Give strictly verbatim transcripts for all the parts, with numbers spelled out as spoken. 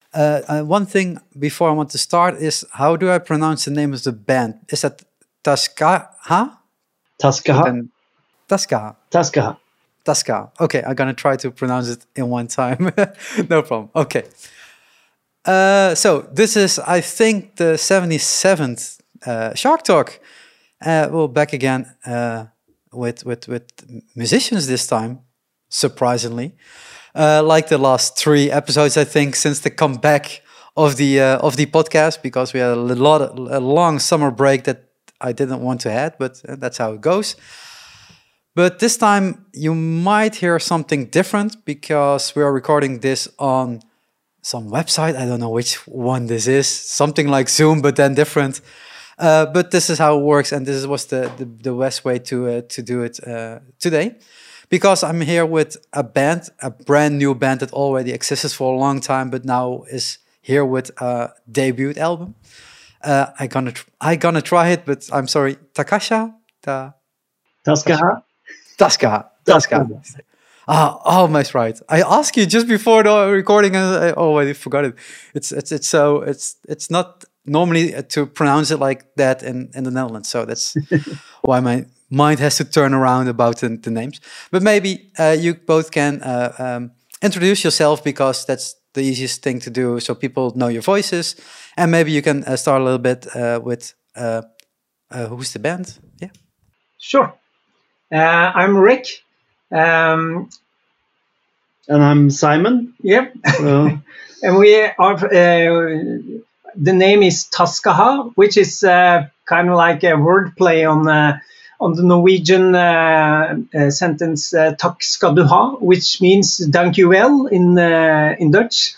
Uh, uh, one thing before I want to start is, how do I pronounce the name of the band? Is that Taskaha? Taskaha. Then Taskaha. Taskaha. Taskaha. Okay, I'm gonna try to pronounce it in one time. No problem. Okay. Uh, so this is, I think, the seventy-seventh uh, Shark Talk. Uh, well, back again uh, with with with musicians this time, surprisingly. Uh, like the last three episodes, I think, since the comeback of the uh, of the podcast, because we had a lot of, a long summer break that I didn't want to have, but that's how it goes. But this time you might hear something different because we are recording this on some website. I don't know which one this is. Something like Zoom, but then different. Uh, but this is how it works, and this was the the, the best way to uh, to do it uh, today. Because I'm here with a band, a brand new band that already existed for a long time, but now is here with a debut album. Uh, I gonna tr- I gonna try it, but I'm sorry, Takasha, Ta, Taskaha. Taskaha, Taskaha. Ah, almost right. I asked you just before the recording, and I already forgot it. It's it's it's so it's it's not normally to pronounce it like that in in the Netherlands, so that's why my mind has to turn around about the, the names. But maybe uh, you both can uh, um, introduce yourself, because that's the easiest thing to do, so people know your voices. And maybe you can uh, start a little bit uh, with uh, uh, who's the band? Yeah. Sure. Uh, I'm Rick. Um, and I'm Simon. Yep. Uh, and we are. Uh, the name is Taskaha, which is uh, kind of like a wordplay on. Uh, on the Norwegian uh, uh, sentence uh, "Takk skal du ha," which means "thank you well" in uh, in Dutch.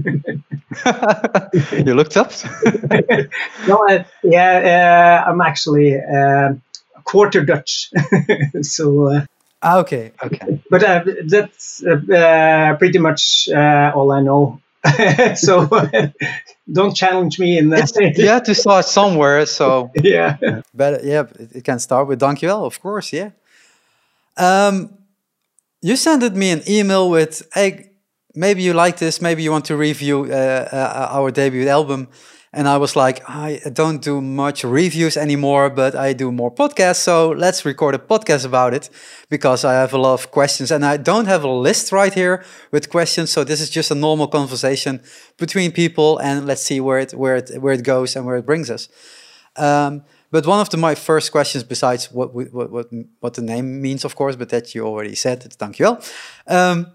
You looked up? No, uh, yeah, uh, I'm actually uh, quarter Dutch, so. Uh, ah, okay, okay. But uh, that's uh, uh, pretty much uh, all I know. So uh, don't challenge me in that. You have to start somewhere, so yeah. But yeah, it can start with dankjewel, of course, yeah. Um, you sent me an email with, hey, maybe you like this, maybe you want to review uh, uh, our debut album. And I was like, I don't do much reviews anymore, but I do more podcasts, so let's record a podcast about it, because I have a lot of questions, and I don't have a list right here with questions, so this is just a normal conversation between people, and let's see where it where it where it goes and where it brings us. Um, but one of the, my first questions, besides what what what what the name means, of course, but that you already said, it's dankjewel, um,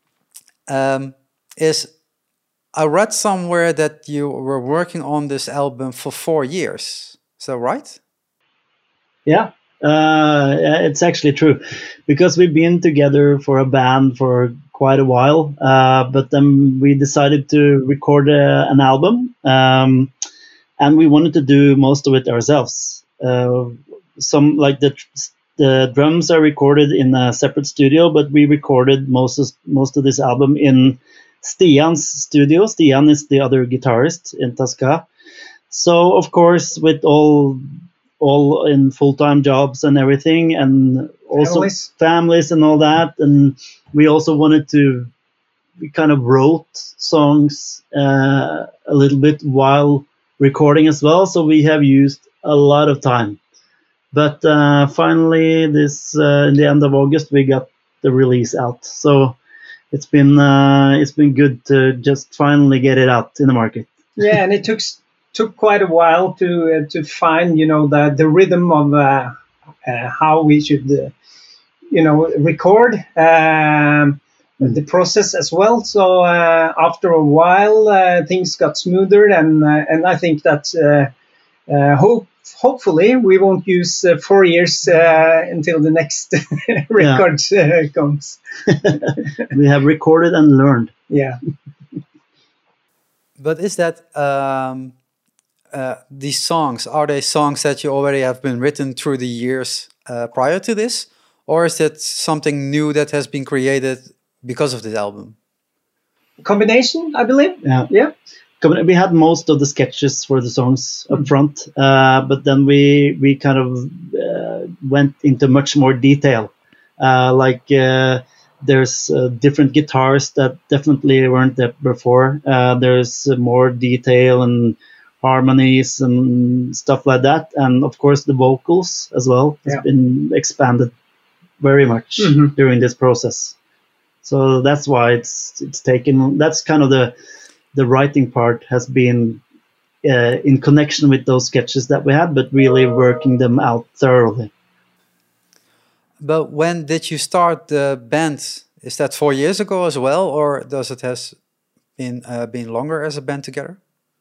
um, is, I read somewhere that you were working on this album for four years. Is that right? Yeah, uh, it's actually true, because we've been together for a band for quite a while, uh, but then we decided to record a, an album, um, and we wanted to do most of it ourselves. Uh, some like the the drums are recorded in a separate studio, but we recorded most of, most of this album in Stian's studio. Stian is the other guitarist in Taskaha. So of course, with all all in full-time jobs and everything, and also Families. families and all that, and we also wanted to, we kind of wrote songs uh, a little bit while recording as well. So we have used a lot of time. But uh, finally, this uh, in the end of August, we got the release out. So it's been uh, it's been good to just finally get it out in the market. Yeah, and it took took quite a while to uh, to find, you know, the the rhythm of uh, uh, how we should, uh, you know, record um, mm. the process as well. So uh, after a while, uh, things got smoother, and uh, and I think that uh, uh, hope. Hopefully, we won't use uh, four years uh, until the next record uh, comes. We have recorded and learned. Yeah. But is that um, uh, these songs, are they songs that you already have been written through the years uh, prior to this? Or is it something new that has been created because of this album? Combination, I believe. Yeah. Yeah. We had most of the sketches for the songs up front, uh, but then we we kind of uh, went into much more detail. Uh, like uh, there's uh, different guitars that definitely weren't there before. Uh, there's uh, more detail and harmonies and stuff like that, and of course the vocals as well has Yeah. been expanded very much Mhm. during this process. So that's why it's it's taken. That's kind of the the writing part has been uh, in connection with those sketches that we had, but really working them out thoroughly. But when did you start the band? Is that four years ago as well, or does it has been uh, been longer as a band together?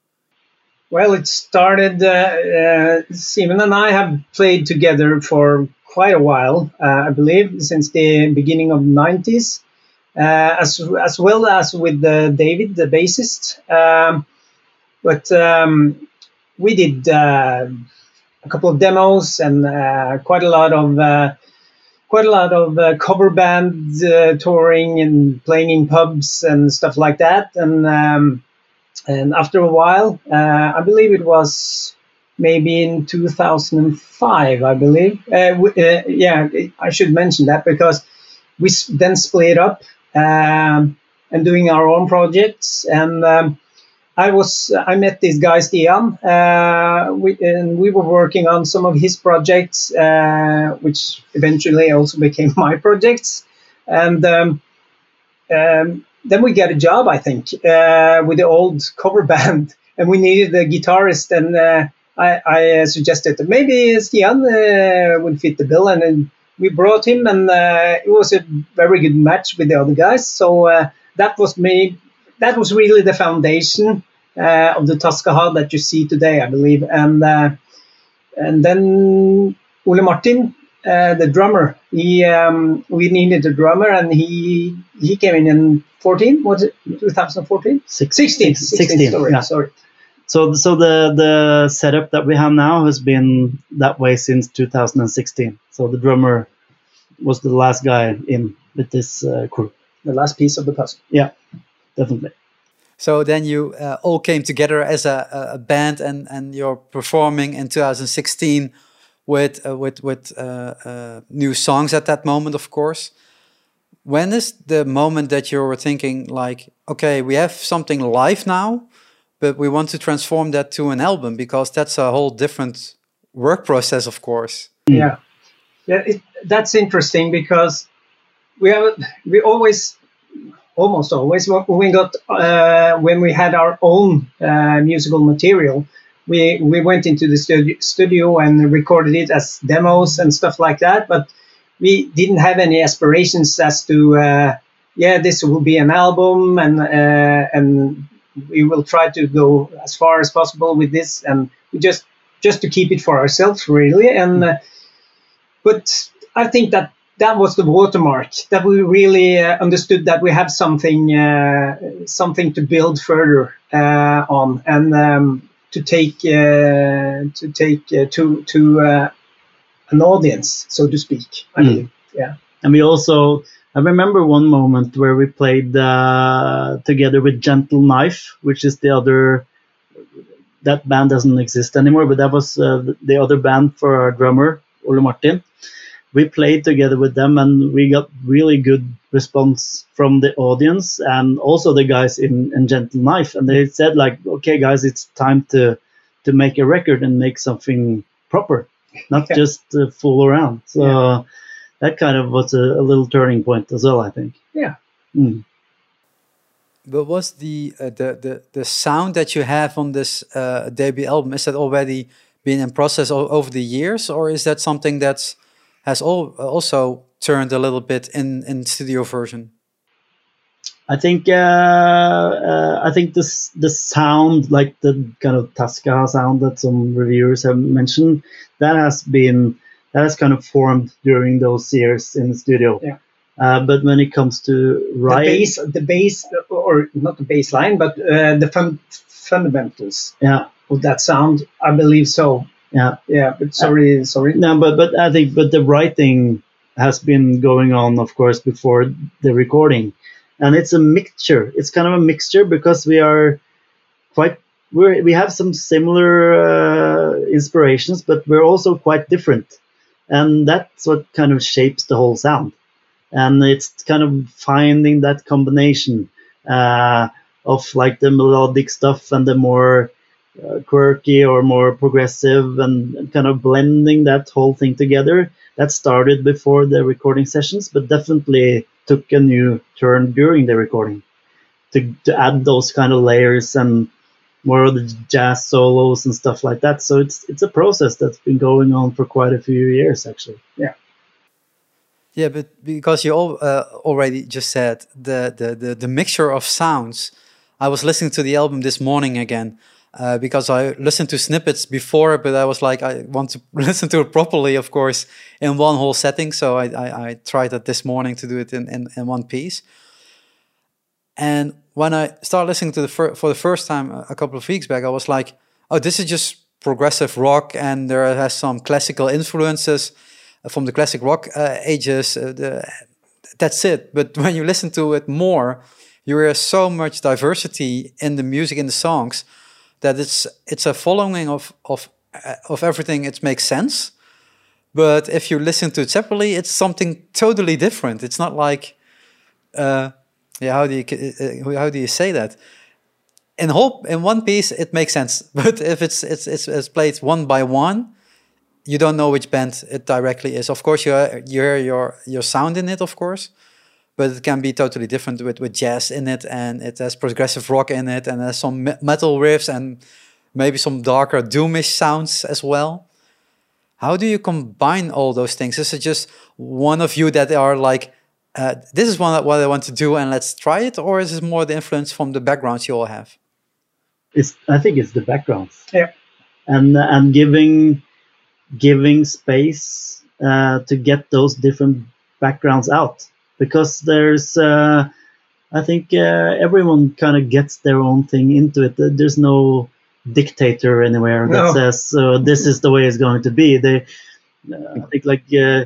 Well, it started. Uh, uh, Simon and I have played together for quite a while, uh, I believe, since the beginning of the nineties, uh, as as well as with uh, David, the bassist. Um, but um, we did uh, a couple of demos and uh, quite a lot of uh, quite a lot of uh, cover band uh, touring and playing in pubs and stuff like that. And um, and after a while, uh, I believe it was maybe in two thousand five, I believe. Uh, w- uh, yeah, I should mention that because we s- then split up um, and doing our own projects. And um, I was I met this guy Stian, uh, we, and we were working on some of his projects, uh, which eventually also became my projects. And um, um, then we got a job, I think, uh, with the old cover band, and we needed a guitarist. And uh, I, I suggested that maybe Stian uh, would fit the bill, and then we brought him, and uh, it was a very good match with the other guys. So uh, that was me. That was really the foundation uh, of the Tascaha that you see today, I believe. And uh, and then Ole Martin, uh, the drummer, he um, we needed a drummer, and he he came in in fourteen. Was it twenty fourteen? Six- sixteen. sixteen, Sorry, yeah. sorry. So, so the the setup that we have now has been that way since two thousand sixteen. So the drummer was the last guy in with this uh, crew. The last piece of the puzzle. Yeah, definitely. So then you uh, all came together as a, a a band, and, and you're performing in two thousand sixteen with uh, with with uh, uh, new songs at that moment, of course. When is the moment that you were thinking like, okay, we have something live now, but we want to transform that to an album, because that's a whole different work process, of course. Yeah, yeah. It, that's interesting because we have we always, almost always, when we got uh, when we had our own uh, musical material, we we went into the studio, studio and recorded it as demos and stuff like that. But we didn't have any aspirations as to uh, yeah, this will be an album, and uh, and we will try to go as far as possible with this, and we just just to keep it for ourselves, really. And uh, but I think that that was the watermark, that we really uh, understood that we have something uh, something to build further uh, on, and um, to take uh, to take uh, to to uh, an audience, so to speak. I Mm. believe. Yeah. And we also, I remember one moment where we played uh, together with Gentle Knife, which is the other, that band doesn't exist anymore, but that was uh, the- the other band for our drummer, Ole Martin. We played together with them, and we got really good response from the audience and also the guys in, in Gentle Knife. And they said like, okay, guys, it's time to, to make a record and make something proper, not Yeah. just uh, fool around. So Yeah. that kind of was a, a little turning point as well, I think. Yeah. Mm. But was the uh, the the the sound that you have on this uh, debut album, is that already been in process o- over the years, or is that something that's has all, also turned a little bit in in studio version? I think uh, uh, I think this the sound, like the kind of Tasca sound that some reviewers have mentioned, that has been that has kind of formed during those years in the studio. Yeah. Uh, but when it comes to The writing, base, the base, or not the baseline, but uh, the fun, fundamentals yeah, of that sound, I believe so. yeah, Yeah, but sorry, sorry. no, but but I think but the writing has been going on, of course, before the recording, and it's a mixture. It's kind of a mixture because we are quite we we have some similar uh, inspirations, but we're also quite different, and that's what kind of shapes the whole sound. and it's kind of finding that combination uh, of like the melodic stuff and the more uh, quirky or more progressive, and, and kind of blending that whole thing together. That started before the recording sessions, but definitely took a new turn during the recording to, to add those kind of layers and more of the jazz solos and stuff like that. So it's it's a process that's been going on for quite a few years, actually. Yeah. Yeah, but because you all, uh, already just said the, the, the, the mixture of sounds, I was listening to the album this morning again uh, because I listened to snippets before, but I was like, I want to listen to it properly, of course, in one whole setting. So I, I, I tried that this morning to do it in, in, in one piece. And when I started listening to the fir- for the first time a couple of weeks back, I was like, oh, this is just progressive rock, and there has some classical influences from the classic rock uh, ages. Uh, the, that's it. But when you listen to it more, you hear so much diversity in the music, in the songs, that it's it's a following of of uh, of everything. It makes sense. But if you listen to it separately, it's something totally different. It's not like, uh, yeah, how do you uh, how do you say that? In whole in one piece, it makes sense. But if it's it's it's, it's played one by one, you don't know which band it directly is. Of course, you you hear your your sound in it, of course, but it can be totally different with, with jazz in it, and it has progressive rock in it, and there's some metal riffs and maybe some darker doomish sounds as well. How do you combine all those things? Is it just one of you that are like, uh, this is one what I want to do and let's try it, or is it more the influence from the backgrounds you all have? It's I think it's the backgrounds. Yeah, and and giving. giving space uh, to get those different backgrounds out, because there's uh, I think uh, everyone kind of gets their own thing into it. There's no dictator anywhere that No. says uh, this is the way it's going to be. They uh, I think like uh,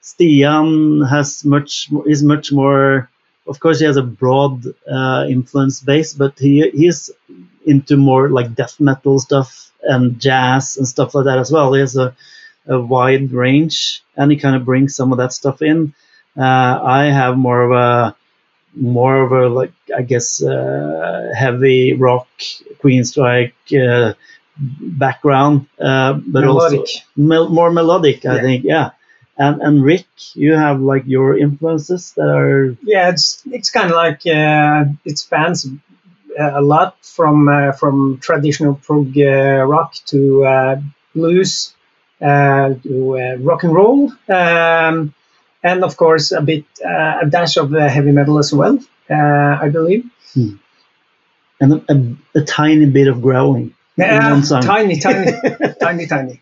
Stian has much is much more, of course he has a broad uh, influence base, but he he's into more like death metal stuff and jazz and stuff like that as well. He has a, a wide range, and he kind of brings some of that stuff in. Uh, I have more of a more of a like I guess uh, heavy rock, Queenstrike uh, background, uh, but Melodic. also mel- more melodic. I Yeah. think, yeah. And and Rick, you have like your influences that are Yeah, it's it's kind of like uh, it spans a lot from uh, from traditional prog uh, rock to uh, blues uh, to uh, rock and roll, um, and of course a bit uh, a dash of uh, heavy metal as well. Uh, I believe. and a, a, a tiny bit of growling. in Yeah, one song. tiny, tiny, tiny, tiny.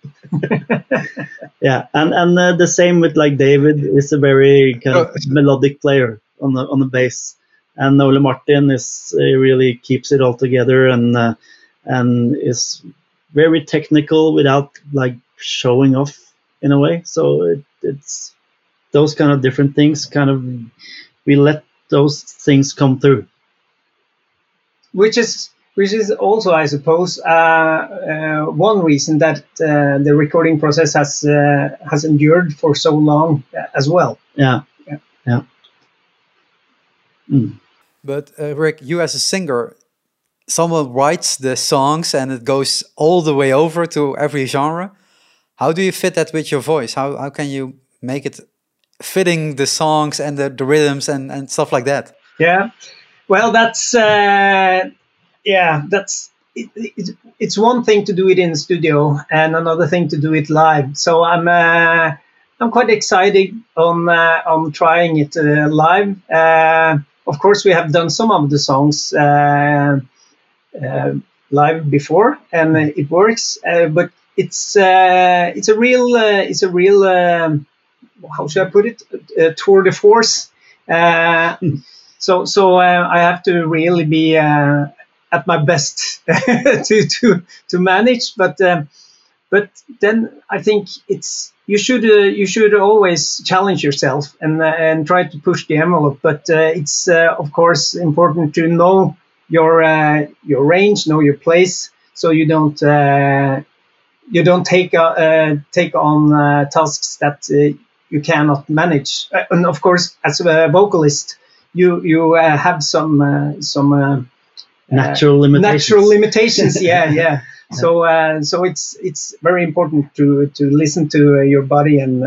Yeah, and and uh, the same with like David is a very kind of melodic player on the on the bass, and Ole Martin is uh, really keeps it all together, and uh, and is very technical without like showing off in a way. So it, it's those kind of different things. Kind of we let those things come through. Which is which is also, I suppose, uh, uh, one reason that uh, the recording process has uh, has endured for so long uh, as well. Yeah, Yeah. yeah. Mm. But uh, Rick, you as a singer, someone writes the songs and it goes all the way over to every genre. How do you fit that with your voice? How how can you make it fitting the songs and the, the rhythms and, and stuff like that? Yeah, well, that's uh, yeah, that's it, it, it's one thing to do it in the studio and another thing to do it live. So I'm uh, I'm quite excited on uh, on trying it uh, live. Uh, of course, we have done some of the songs uh, uh, live before, and it works. Uh, but it's uh, it's a real uh, it's a real um, how should I put it? Uh, tour de force. Uh, So, so uh, I have to really be uh, at my best to to to manage. But um, but then I think it's you should uh, you should always challenge yourself and uh, and try to push the envelope. But uh, it's uh, of course important to know your uh, your range, know your place, so you don't uh, you don't take uh, uh, take on uh, tasks that uh, you cannot manage. Uh, and of course, as a vocalist, you you uh, have some uh, some uh, natural uh, limitations. Natural limitations, yeah, yeah. So uh, so it's it's very important to to listen to uh, your body and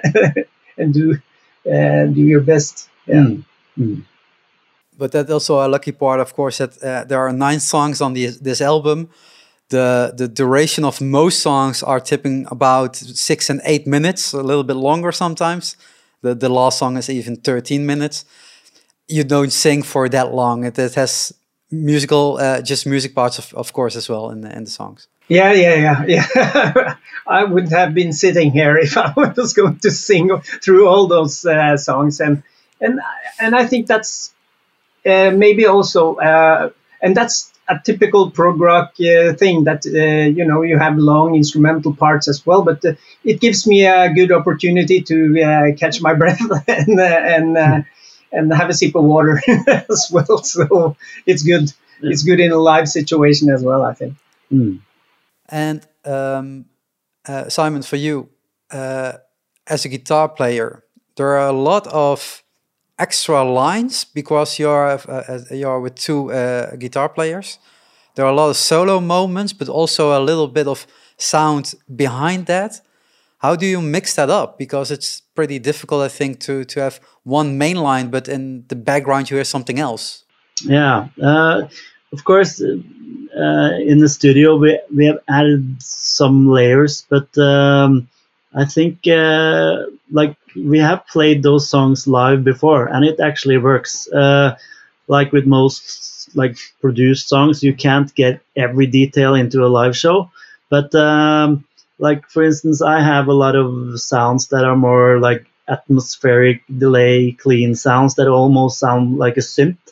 and do uh, do your best. Yeah. Mm. Mm. But that's also a lucky part, of course, that uh, there are nine songs on the, this album. The the duration of most songs are tipping about six and eight minutes, a little bit longer sometimes. The the last song is even thirteen minutes. You don't sing for that long. It, it has musical, uh, just music parts, of, of course, as well in the, in the songs. Yeah, yeah, yeah, yeah. I wouldn't have been sitting here if I was going to sing through all those uh, songs, and and and I think that's uh, maybe also, uh, and that's a typical prog rock uh, thing that uh, you know you have long instrumental parts as well, but uh, it gives me a good opportunity to uh, catch my breath and uh, and uh, and have a sip of water as well. So it's good. Yeah. It's good in a live situation as well, I think. Mm. And um, uh, Simon, for you, uh, as a guitar player, there are a lot of extra lines because you're uh, you're with two uh, guitar players. There are a lot of solo moments, but also a little bit of sound behind that. How do you mix that up? Because it's pretty difficult, I think, to to have one main line, but in the background you hear something else. Yeah, uh, of course. Uh, in the studio, we we have added some layers, but um, I think uh, like we have played those songs live before, and it actually works. Uh, like with most like produced songs, you can't get every detail into a live show, but um, like for instance, I have a lot of sounds that are more like atmospheric delay, clean sounds that almost sound like a synth.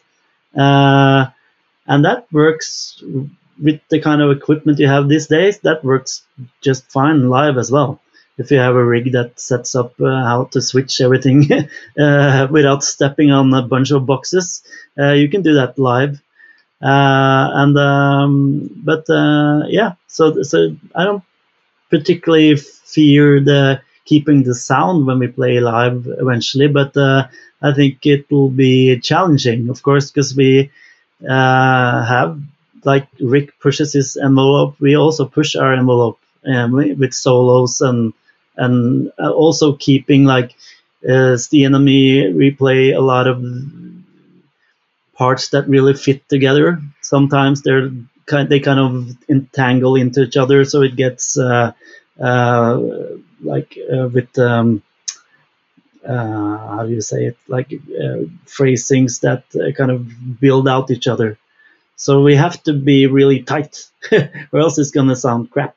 Uh, And that works with the kind of equipment you have these days. That works just fine live as well. If you have a rig that sets up uh, how to switch everything uh, without stepping on a bunch of boxes, uh, you can do that live. Uh, and um, but uh, yeah, so so I don't particularly fear the keeping the sound when we play live eventually, but uh, I think it will be challenging, of course, because we. Uh, have like Rick pushes his envelope, we also push our envelope um, with solos and and also keeping like uh, Stian and me, we play a lot of parts that really fit together. Sometimes they're kind they kind of entangle into each other, so it gets uh, uh, like uh, with um, Uh, how do you say it, like uh, phrasings that uh, kind of build out each other. So we have to be really tight or else it's gonna sound crap.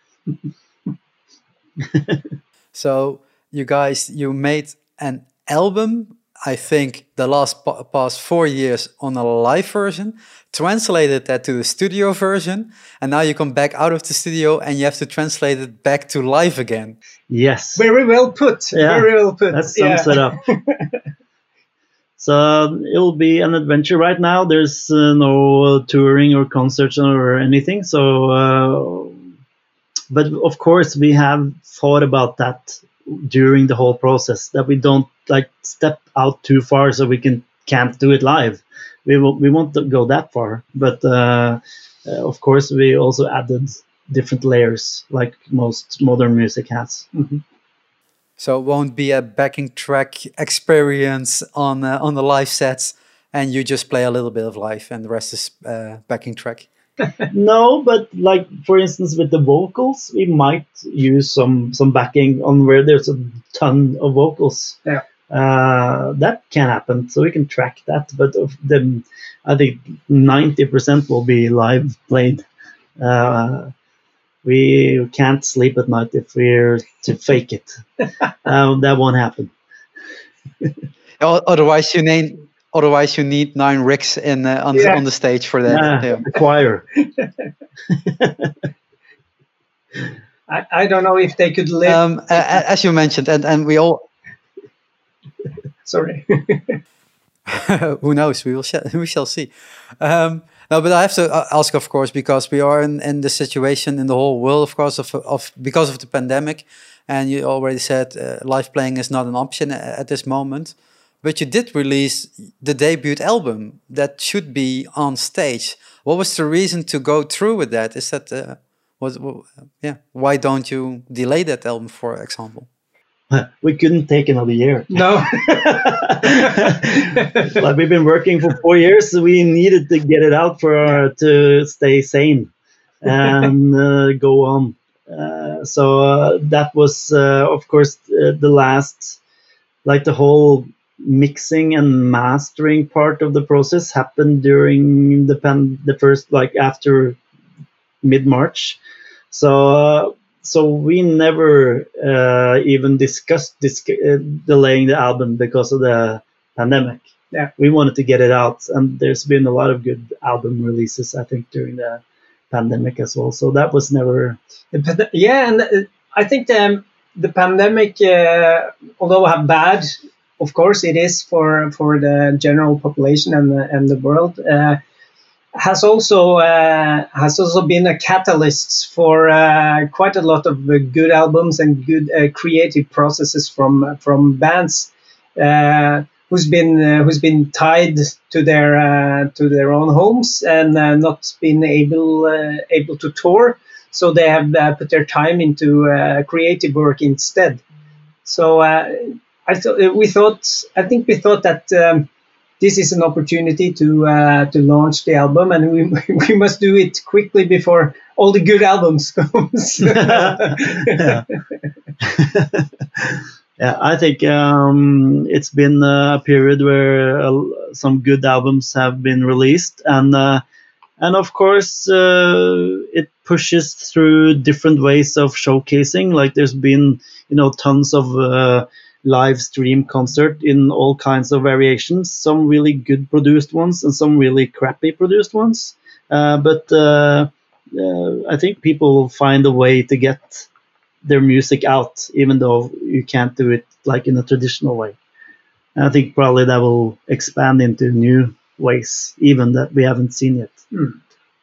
So you guys, you made an album, I think the last pa past four years on a live version, translated that to the studio version, and now you come back out of the studio and you have to translate it back to live again. Yes. Very well put. Yeah, Very well put. that sums yeah. it up. So it'll be an adventure. Right now there's uh, no touring or concerts or anything, so uh, but of course we have thought about that during the whole process, that we don't like step out too far so we can can't do it live. We will, we won't go that far, but uh, uh, of course we also added different layers like most modern music has. Mm-hmm. So it won't be a backing track experience on uh, on the live sets, and you just play a little bit of live, and the rest is uh, backing track. No, but like for instance with the vocals, we might use some some backing on where there's a ton of vocals. Yeah, uh, that can happen, so we can track that. But of the, I think ninety percent will be live played. Uh, we can't sleep at night if we're to fake it. uh, that won't happen. Otherwise, you need otherwise you need nine rigs in uh, on, yeah. the, on the stage for that. Yeah, yeah. the choir. I, I don't know if they could live. Um, uh, as you mentioned, and and we all. Sorry. Who knows? We will. Sh- we shall see. Um, no, but I have to ask, of course, because we are in, in the situation in the whole world, of course, of of because of the pandemic. and you already said uh, live playing is not an option at this moment. But you did release the debut album that should be on stage. What was the reason to go through with that? Is that uh, was uh, yeah? Why don't you delay that album, for example? We couldn't take another year. No. Like we've been working for four years, so we needed to get it out for uh, to stay sane and uh, go on. Uh, so uh, that was, uh, of course, uh, the last, like the whole mixing and mastering part of the process happened during the pan, the first, like after mid March. So. Uh, So we never uh, even discussed this, uh, delaying the album because of the pandemic. Yeah, we wanted to get it out, and there's been a lot of good album releases, I think, during the pandemic as well. So that was never. Yeah, and I think the the pandemic, uh, although how bad, of course, it is for for the general population and the, and the world. Uh, has also uh, has also been a catalyst for uh, quite a lot of uh, good albums and good uh, creative processes from from bands uh, who's been uh, who's been tied to their uh, to their own homes and uh, not been able uh, able to tour, so they have uh, put their time into uh, creative work instead. So uh, I thought we thought I think we thought that. Um, This is an opportunity to uh, to launch the album, and we we must do it quickly before all the good albums comes. yeah. yeah, I think um, it's been a period where uh, some good albums have been released, and uh, and of course uh, it pushes through different ways of showcasing. Like there's been you know tons of. Uh, live stream concert in all kinds of variations, some really good produced ones and some really crappy produced ones. Uh, but uh, uh, I think people will find a way to get their music out, even though you can't do it like in a traditional way. And I think probably that will expand into new ways, even that we haven't seen yet. Mm.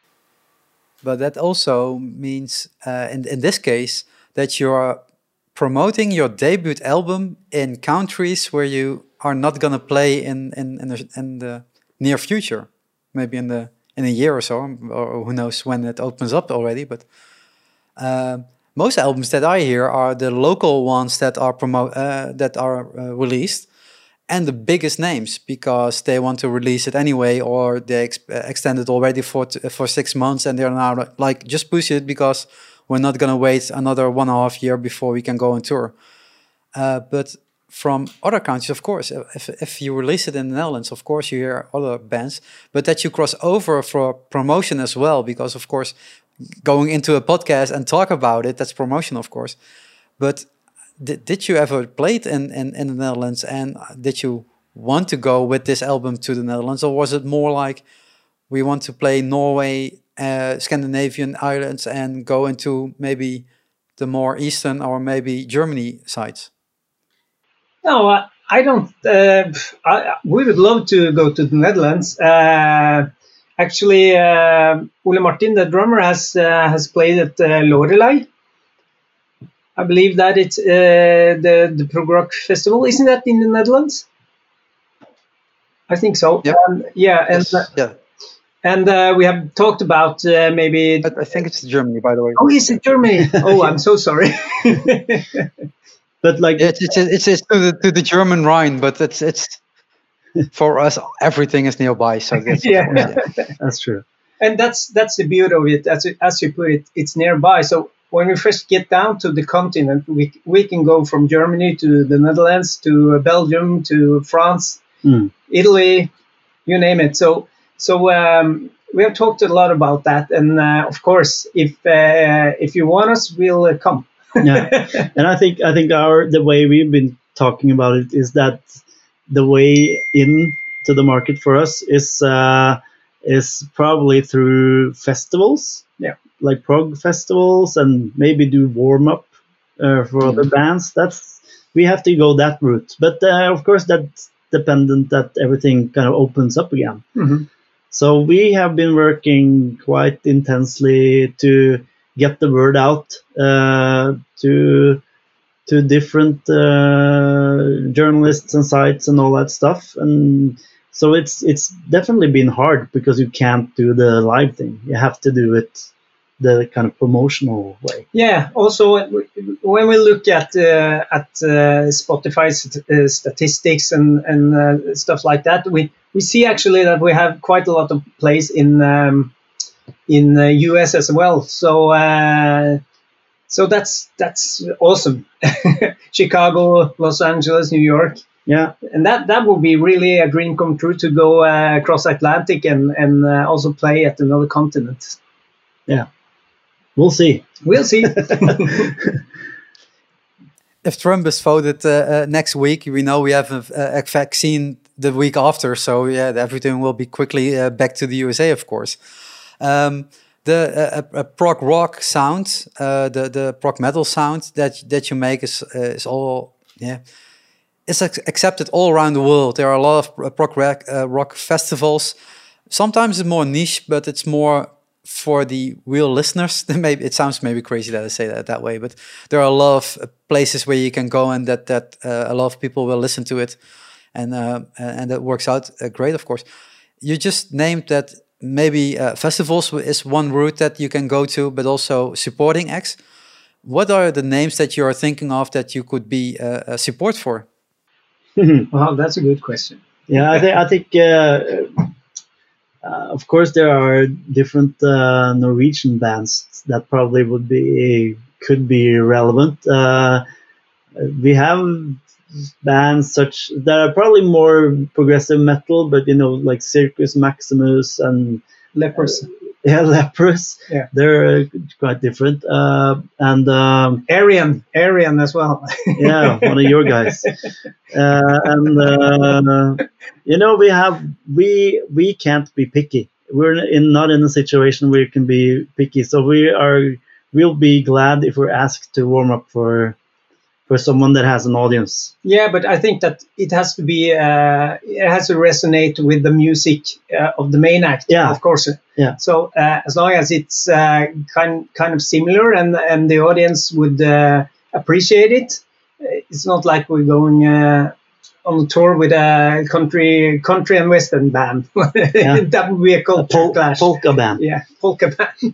But that also means, uh, in, in this case, that you're promoting your debut album in countries where you are not going to play in in in the, in the near future, maybe in the in a year or so, or who knows when it opens up already. But uh, most albums that I hear are the local ones that are promote uh, that are uh, released, and the biggest names because they want to release it anyway, or they ex extend it already for t for six months, and they're now like just push it because we're not going to wait another one and a half year before we can go on tour. Uh, but from other countries, of course, if, if you release it in the Netherlands, of course you hear other bands, but that you cross over for promotion as well, because of course, going into a podcast and talk about it, that's promotion, of course. But did, did you ever play it in, in, in the Netherlands, and did you want to go with this album to the Netherlands, or was it more like, we want to play Norway, Uh, Scandinavian islands, and go into maybe the more eastern or maybe Germany sides? No, uh, I don't. Uh, I, we would love to go to the Netherlands. Uh, actually, uh, Ole Martin, the drummer, has uh, has played at uh, Lorelei. I believe that it's uh, the the prog rock festival. Isn't that in the Netherlands? I think so. Yep. Um, yeah, and yes. uh, yeah. And uh, we have talked about uh, maybe. I, I think it's Germany, by the way. Oh, is it Germany? Oh, I'm so sorry. But like yeah, it's it's it's, it's to, the, to the German Rhine, but it's it's for us everything is nearby. So that's yeah. course, yeah, that's true. And that's that's the beauty of it. As as you put it, it's nearby. So when we first get down to the continent, we we can go from Germany to the Netherlands to Belgium to France, mm. Italy, you name it. So. So um, we have talked a lot about that, and uh, of course, if uh, if you want us, we'll uh, come. Yeah, and I think I think our the way we've been talking about it is that the way in to the market for us is uh, is probably through festivals, yeah, like prog festivals, and maybe do warm up uh, for mm-hmm. other bands. That's we have to go that route, but uh, of course that's dependent that everything kind of opens up again. Mm-hmm. So we have been working quite intensely to get the word out uh, to to different uh, journalists and sites and all that stuff. And so it's it's definitely been hard because you can't do the live thing. You have to do it the kind of promotional way. Yeah. Also, when we look at uh, at uh, Spotify st- uh, statistics and and uh, stuff like that, we we see actually that we have quite a lot of plays in um, in the U S as well. So uh, so that's that's awesome. Chicago, Los Angeles, New York. Yeah, and that that would be really a dream come true to go uh, across Atlantic and and uh, also play at another continent. Yeah. We'll see. We'll see. If Trump is voted uh, uh, next week, we know we have a, a vaccine the week after. So yeah, everything will be quickly uh, back to the U S A, of course. Um, the uh, uh, prog rock sound, uh, the the prog metal sound that that you make is uh, is all yeah, it's ac- accepted all around the world. There are a lot of prog rock, uh, rock festivals. Sometimes it's more niche, but it's more for the real listeners. Maybe it sounds maybe crazy that I say that that way, but there are a lot of uh, places where you can go and that that uh, a lot of people will listen to it, and uh, and that works out uh, great. Of course, you just named that maybe uh, festivals is one route that you can go to, but also supporting acts. What are the names that you are thinking of that you could be uh, a support for? Wow, that's a good question. Yeah, I think I think. Uh, Uh, of course, there are different uh, Norwegian bands that probably would be could be relevant. Uh, we have bands such that are probably more progressive metal, but you know, like Circus Maximus and Lepers. Uh, yeah, Lepers. Yeah, they're uh, quite different. Uh, and um, Arian, Arian as well. Yeah, one of your guys. Uh, and uh, you know, we have we we can't be picky. We're in not in a situation where you can be picky. So we are we'll be glad if we're asked to warm up for for someone that has an audience. Yeah, but I think that it has to be uh, it has to resonate with the music uh, of the main act. Yeah, of course. Yeah. So uh, as long as it's uh, kind kind of similar and and the audience would uh, appreciate it, it's not like we're going uh, on a tour with a country country and western band. Yeah. That would be a culture Pol- clash. polka band. Yeah, polka band.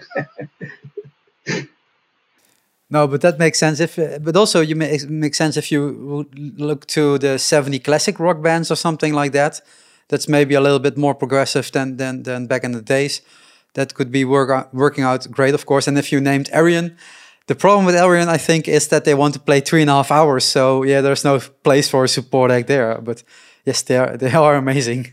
No, but that makes sense. If, uh, but also you make make sense if you would look to the seventy classic rock bands or something like that. That's maybe a little bit more progressive than than, than back in the days. That could be work out, working out great, of course. And if you named Arian, the problem with Arian, I think, is that they want to play three and a half hours. So yeah, there's no place for a support act there. But yes, they are they are amazing.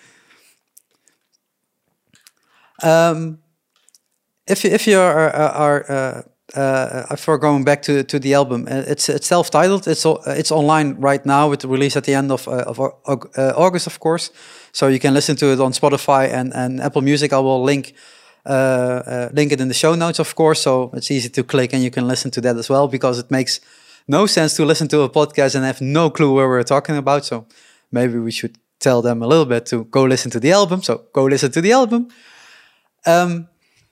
Um, if if you are are uh, uh, for going back to to the album, it's it's self-titled. It's it's online right now with the release at the end of uh, of uh, August, of course. So you can listen to it on Spotify and and Apple Music. I will link. Uh, uh, link it in the show notes, of course, so it's easy to click and you can listen to that as well, because it makes no sense to listen to a podcast and have no clue where we're talking about. So maybe we should tell them a little bit to go listen to the album. So go listen to the album. Um,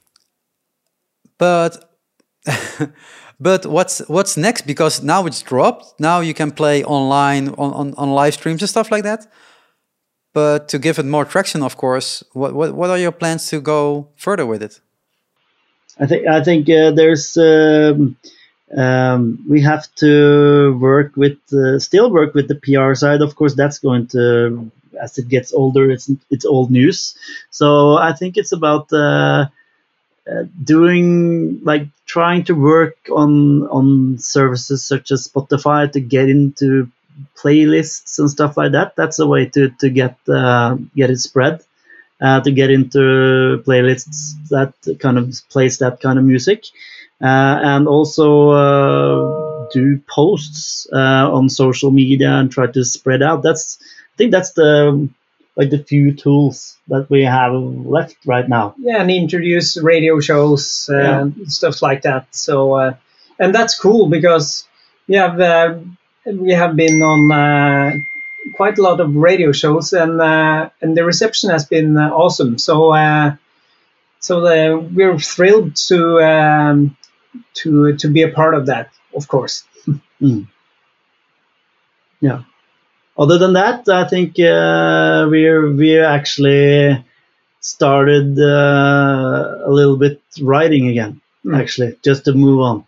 but but what's what's next? Because now it's dropped. Now you can play online on, on, on live streams and stuff like that. But to give it more traction, of course, what what, what are your plans to go further with it? I think I think uh, there's um, um, we have to work with uh, still work with the P R side. Of course, that's going to, as it gets older, it's it's old news. So I think it's about uh, uh, doing like trying to work on on services such as Spotify to get into playlists and stuff like that. That's a way to to get uh, get it spread, uh, to get into playlists that kind of plays that kind of music, uh, and also uh, do posts uh, on social media and try to spread out. That's I think that's the like the few tools that we have left right now. Yeah, and introduce radio shows and yeah. stuff like that. So uh, and that's cool because we have. Uh, We have been on uh, quite a lot of radio shows, and uh, and the reception has been uh, awesome. So uh, so the, we're thrilled to um, to to be a part of that, of course. Mm. Yeah. Other than that, I think uh, we're we actually started uh, a little bit writing again. Mm. Actually, just to move on.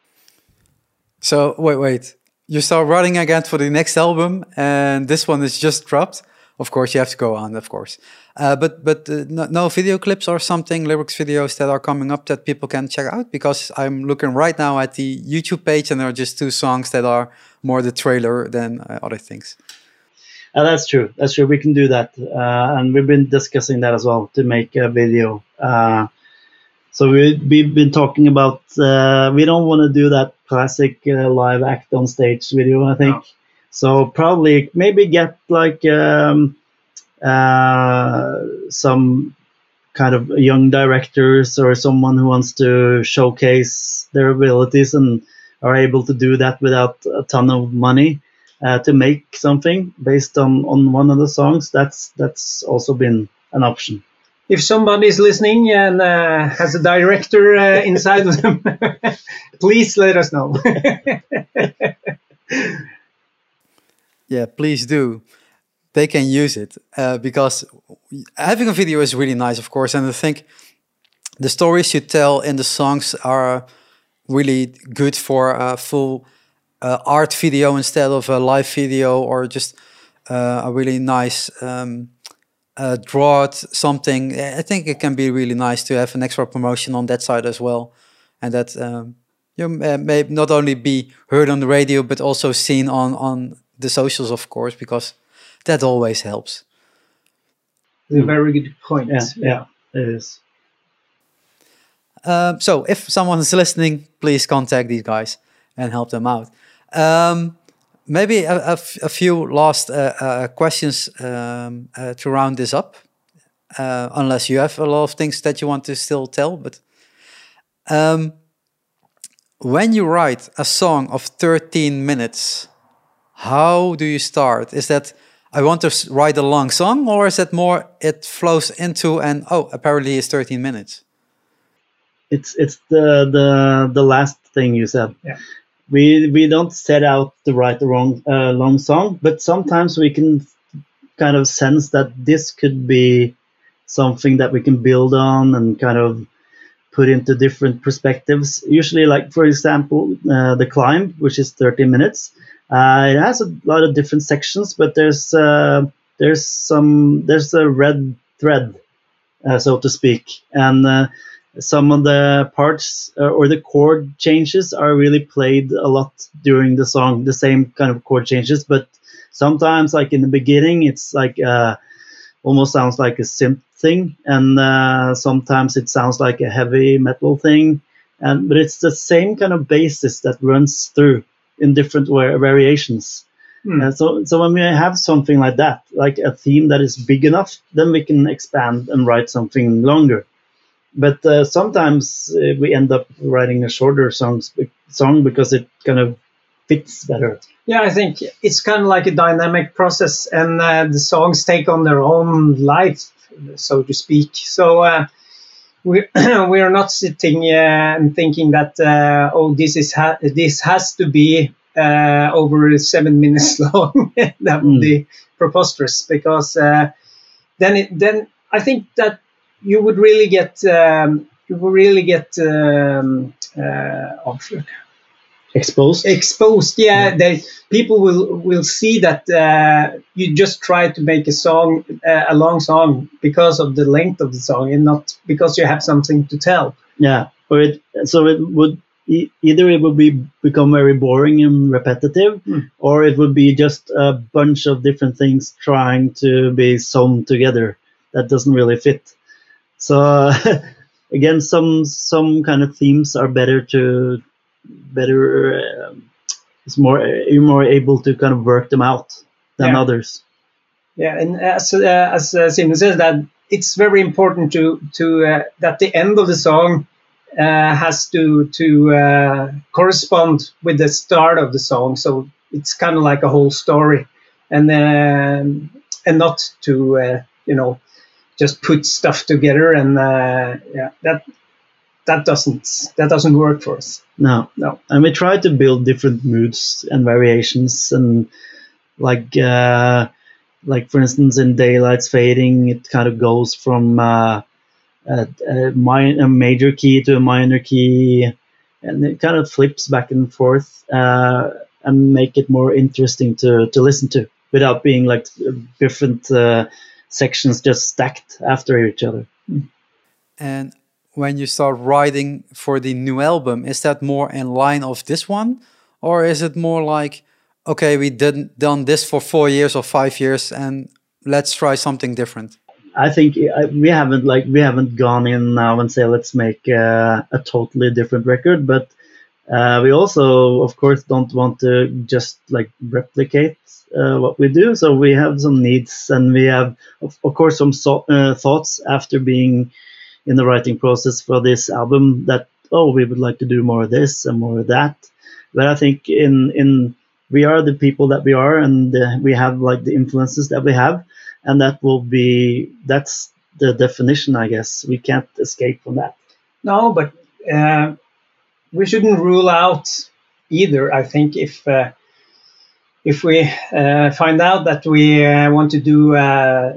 So wait, wait. You start writing again for the next album, and this one is just dropped. Of course, you have to go on, of course. Uh, but but uh, no, no video clips or something, lyrics videos that are coming up that people can check out? Because I'm looking right now at the YouTube page, and there are just two songs that are more the trailer than uh, other things. Uh, that's true. That's true. We can do that, uh, and we've been discussing that as well to make a video. Uh, so we, we've been talking about. Uh, we don't want to do that classic uh, live act on stage video, I think. No. So probably maybe get like um, uh, some kind of young directors or someone who wants to showcase their abilities and are able to do that without a ton of money uh, to make something based on, on one of the songs. That's that's also been an option. If somebody is listening and uh, has a director uh, inside of them, please let us know. Yeah, please do. They can use it uh, because having a video is really nice, of course. And I think the stories you tell in the songs are really good for a full uh, art video instead of a live video, or just uh, a really nice um, uh, draw something. I think it can be really nice to have an extra promotion on that side as well, and that um, you uh, may not only be heard on the radio but also seen on on the socials, of course, because that always helps. A very good point. Yeah, yeah, it is. Um, so if someone is listening, please contact these guys and help them out. Um, maybe a, a, a few last uh, uh, questions um, uh, to round this up, uh, unless you have a lot of things that you want to still tell. But um, when you write a song of thirteen minutes, how do you start? Is that I want to write a long song, or is it more it flows into and oh, apparently it's thirteen minutes? It's it's the the the last thing you said. Yeah. We we don't set out to write a wrong uh, long song, but sometimes we can kind of sense that this could be something that we can build on and kind of put into different perspectives. Usually, like for example, uh, The Climb, which is thirty minutes. Uh, it has a lot of different sections, but there's uh, there's some there's a red thread, uh, so to speak, and uh, some of the parts uh, or the chord changes are really played a lot during the song. The same kind of chord changes, but sometimes, like in the beginning, it's like uh, almost sounds like a synth thing, and uh, sometimes it sounds like a heavy metal thing, and but it's the same kind of basis that runs through in different variations. Hmm. Uh, so, so when we have something like that, like a theme that is big enough, then we can expand and write something longer. But uh, sometimes uh, we end up writing a shorter songs, song because it kind of fits better. Yeah, I think it's kind of like a dynamic process, and uh, the songs take on their own life, so to speak. So uh, we we are not sitting uh, and thinking that uh, oh, this is ha- this has to be uh, over seven minutes long. That would mm. be preposterous, because uh, then it, then I think that you would really get um, you would really get um, uh, oh, exposed. Exposed, yeah. yeah. They people will will see that uh, you just try to make a song, uh, a long song, because of the length of the song, and not because you have something to tell. Yeah, or it so it would e- either it would be become very boring and repetitive, mm. or it would be just a bunch of different things trying to be sewn together that doesn't really fit. So uh, again, some some kind of themes are better to better. Um, it's more you're more able to kind of work them out than yeah. others. Yeah, and as uh, as uh, Simon says, that it's very important to to uh, that the end of the song uh, has to to uh, correspond with the start of the song. So it's kind of like a whole story, and um, and not to uh, you know. just put stuff together, and uh, yeah, that that doesn't that doesn't work for us. No, No. and we try to build different moods and variations, and like uh, like for instance, in Daylight's Fading, it kind of goes from uh, a, a, mi- a major key to a minor key, and it kind of flips back and forth uh, and make it more interesting to, to listen to without being like different uh, sections just stacked after each other. And when you start writing for the new album, is that more in line of this one? Or is it more like, okay, we didn't done this for four years or five years and let's try something different? I think uh, we haven't like we haven't gone in now and say let's make uh, a totally different record, but uh, we also, of course, don't want to just like replicate uh, what we do. So we have some needs, and we have, of, of course, some so, uh, thoughts after being in the writing process for this album that oh, we would like to do more of this and more of that. But I think in in we are the people that we are, and uh, we have like the influences that we have. And that will be, that's the definition, I guess. We can't escape from that. No, but uh, we shouldn't rule out either. I think if uh, if we uh, find out that we uh, want to do uh,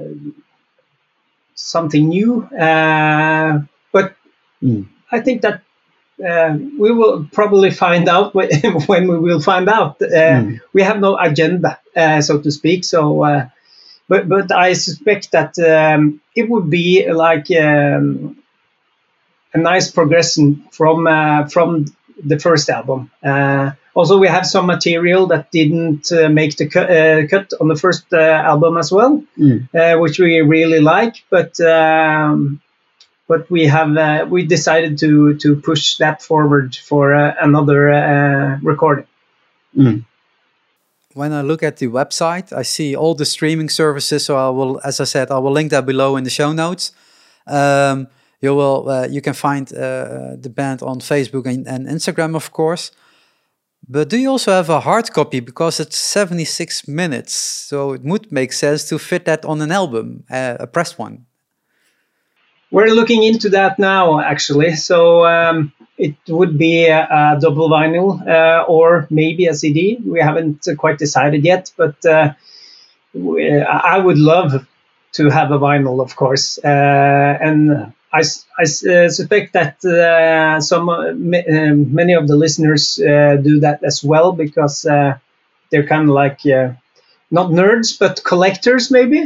something new, uh, but Mm. I think that uh, we will probably find out when, when we will find out. Uh, Mm. We have no agenda, uh, so to speak. So. Uh, But but I suspect that um, it would be like um, a nice progression from uh, from the first album. Uh, also, we have some material that didn't uh, make the cu- uh, cut on the first uh, album as well, Mm. uh, which we really like. But um, but we have uh, we decided to to push that forward for uh, another uh, recording. Mm. When I look at the website, I see all the streaming services. So I will, as I said, I will link that below in the show notes. Um, you will, uh, you can find uh, the band on Facebook and, and Instagram, of course. But do you also have a hard copy, because it's seventy-six minutes? So it would make sense to fit that on an album, uh, a pressed one. We're looking into that now, actually. So um, it would be a, a double vinyl uh, or maybe a C D. We haven't uh, quite decided yet, but uh, we, I would love to have a vinyl, of course. Uh, and I, I uh, suspect that uh, some uh, m- many of the listeners uh, do that as well, because uh, they're kind of like uh, not nerds, but collectors, maybe.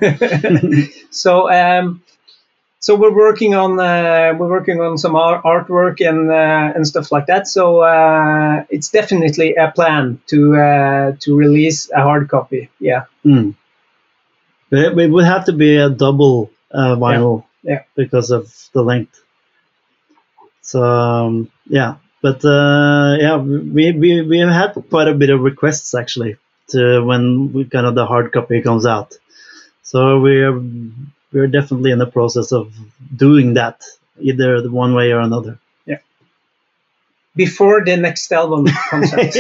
so. Um, So we're working on uh, we're working on some art- artwork and uh, and stuff like that. So uh, it's definitely a plan to uh, to release a hard copy. Yeah. Mm. But it, it would have to be a double uh, vinyl Yeah, yeah. because of the length. So um, yeah, but uh, yeah, we we we have had quite a bit of requests actually to when we, kind of the hard copy comes out. So we're we're definitely in the process of doing that, either the one way or another. Yeah. Before the next album comes out.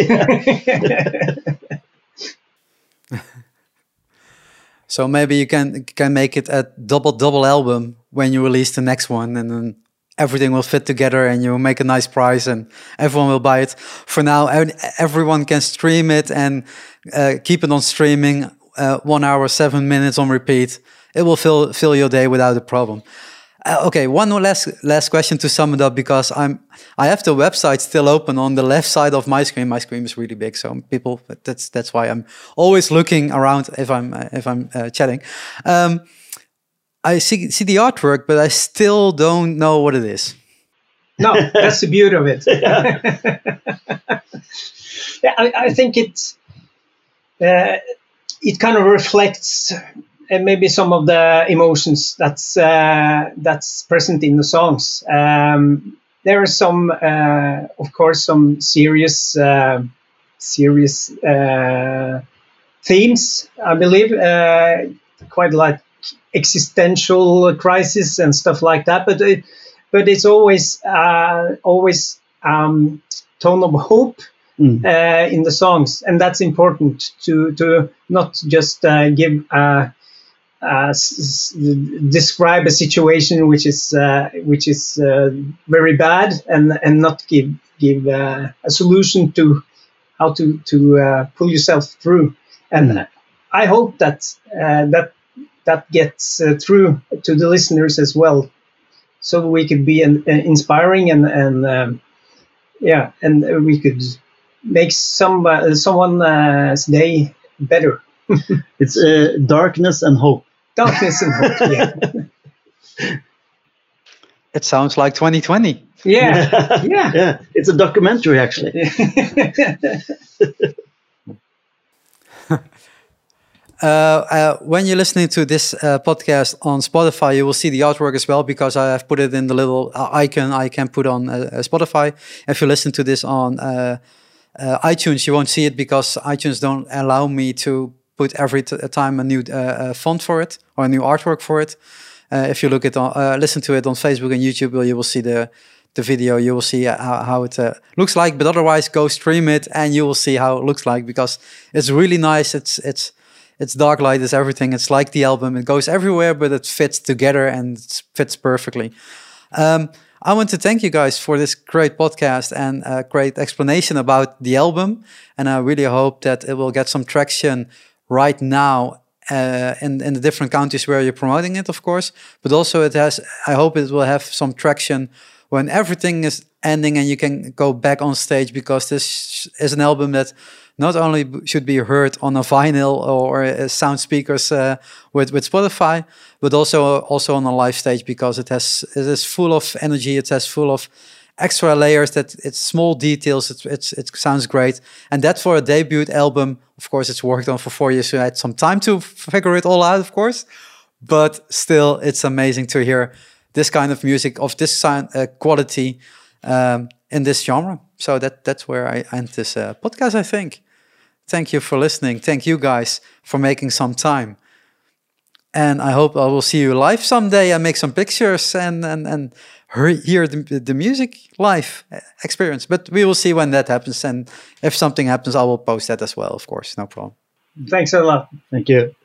So maybe you can can make it a double double album when you release the next one, and then everything will fit together, and you will make a nice price, and everyone will buy it. For now, everyone can stream it and uh, keep it on streaming, uh, one hour, seven minutes on repeat. It will fill fill your day without a problem. Uh, okay, one more last last question to sum it up, because I'm I have the website still open on the left side of my screen. My screen is really big, so people that's that's why I'm always looking around if I'm uh, if I'm uh, chatting. Um, I see see the artwork, but I still don't know what it is. No, that's the beauty of it. yeah, I, I think it's uh, it kind of reflects. And maybe some of the emotions that's uh, that's present in the songs. Um, there are some, uh, of course, some serious, uh, serious uh, themes. I believe, uh, quite like existential crisis and stuff like that. But it, but it's always uh, always um, tone of hope. Mm. Uh, in the songs, and that's important to to not just uh, give. Uh, uh, s- s- describe a situation which is uh, which is uh, very bad, and and not give give uh, a solution to how to to uh, pull yourself through. And Mm. I hope that uh, that that gets uh, through to the listeners as well, so we could be an, uh, inspiring, and and um, yeah, and we could make some uh, someone's day better. It's uh, darkness and hope. Darkness and hope. Yeah, It sounds like twenty twenty. yeah, yeah. Yeah, it's a documentary actually. Uh, uh, when you're listening to this uh, podcast on Spotify, you will see the artwork as well, because I have put it in the little uh, icon I can put on uh, uh, Spotify. If you listen to this on uh, uh, iTunes, you won't see it because iTunes don't allow me to put every t- time a new uh, uh, font for it or a new artwork for it. Uh, if you look at on, uh, listen to it on Facebook and YouTube, well, you will see the the video. You will see how, how it uh, looks like. But otherwise, go stream it and you will see how it looks like, because it's really nice. It's it's it's dark light. It's everything. It's like the album. It goes everywhere, but it fits together and it fits perfectly. Um, I want to thank you guys for this great podcast and a great explanation about the album. And I really hope that it will get some traction right now uh, in, in the different countries where you're promoting it, of course. But also it has, I hope it will have some traction when everything is ending and you can go back on stage, because this is an album that not only should be heard on a vinyl or uh, sound speakers uh, with with Spotify, but also also on a live stage, because it has it is full of energy. It has full of extra layers. That it's small details. It's, it's it sounds great, and that for a debut album, of course, it's worked on for four years. So I had some time to figure it all out, of course, but still, it's amazing to hear this kind of music of this sound uh, quality um, in this genre. So that that's where I end this uh, podcast, I think. Thank you for listening. Thank you guys for making some time. And I hope I will see you live someday and make some pictures and and, and hear the, the music live experience. But we will see when that happens. And if something happens, I will post that as well, of course. No problem. Thanks a lot. Thank you.